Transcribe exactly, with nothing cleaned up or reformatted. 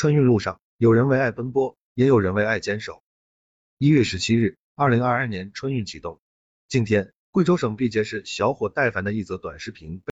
春运路上，有人为爱奔波，也有人为爱坚守。一月十七日，二零二二年春运启动。今天，贵州省毕节市小伙戴凡的一则短视频